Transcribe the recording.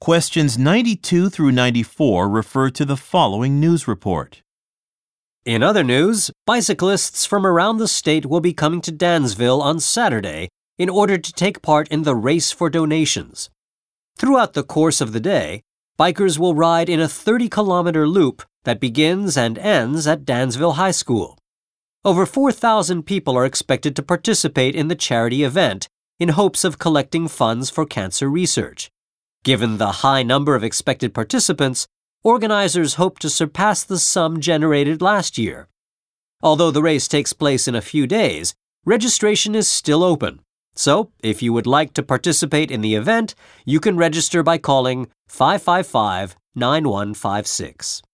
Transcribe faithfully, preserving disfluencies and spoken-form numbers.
Questions ninety-two through ninety-four refer to the following news report. In other news, bicyclists from around the state will be coming to Dansville on Saturday in order to take part in the Race for Donations. Throughout the course of the day, bikers will ride in a thirty-kilometer loop that begins and ends at Dansville High School. Over four thousand people are expected to participate in the charity event in hopes of collecting funds for cancer research. Given the high number of expected participants, organizers hope to surpass the sum generated last year. Although the race takes place in a few days, registration is still open. So, if you would like to participate in the event, you can register by calling five five five, nine one five six.